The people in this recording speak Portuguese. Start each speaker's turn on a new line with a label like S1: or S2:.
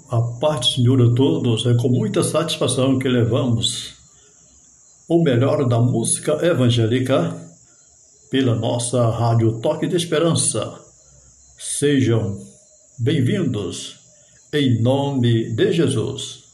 S1: A paz do Senhor a todos, é com muita satisfação que levamos o melhor da música evangélica pela nossa Rádio Toque de Esperança. Sejam bem-vindos, em nome de Jesus.